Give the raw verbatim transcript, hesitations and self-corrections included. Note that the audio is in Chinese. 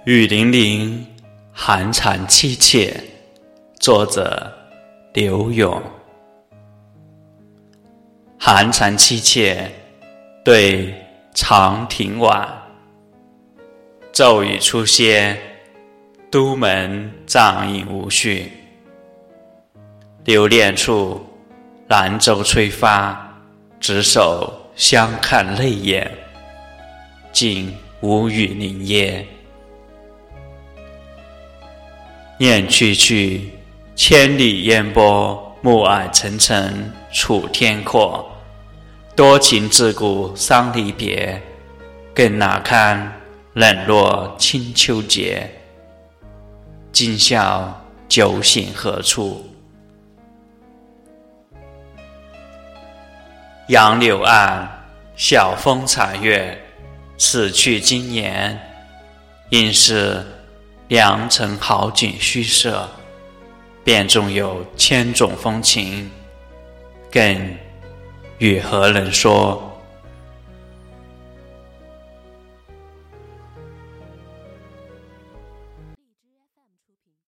雨霖铃，寒蝉凄切。作者刘永。寒蝉凄切，对长亭晚。骤雨初歇，都门帐饮无绪。留恋处，兰舟吹发，执手相看泪眼，竟无语凝噎。念去去，千里烟波，暮霭沉沉楚天阔。多情自古伤离别，更哪堪冷落清秋节。今宵酒醒何处？杨柳岸，晓风残月。此去经年，应是良辰好景虚设。便纵有千种风情，更与何人说？